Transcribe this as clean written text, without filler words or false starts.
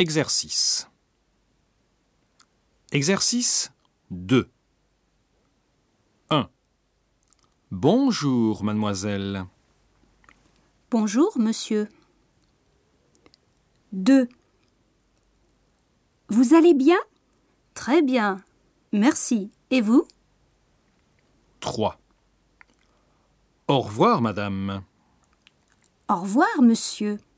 Exercice. Exercice 2. 1. Bonjour, mademoiselle. Bonjour, monsieur. 2. Vous allez bien? Très bien, merci. Et vous? 3. Au revoir, madame. Au revoir, monsieur.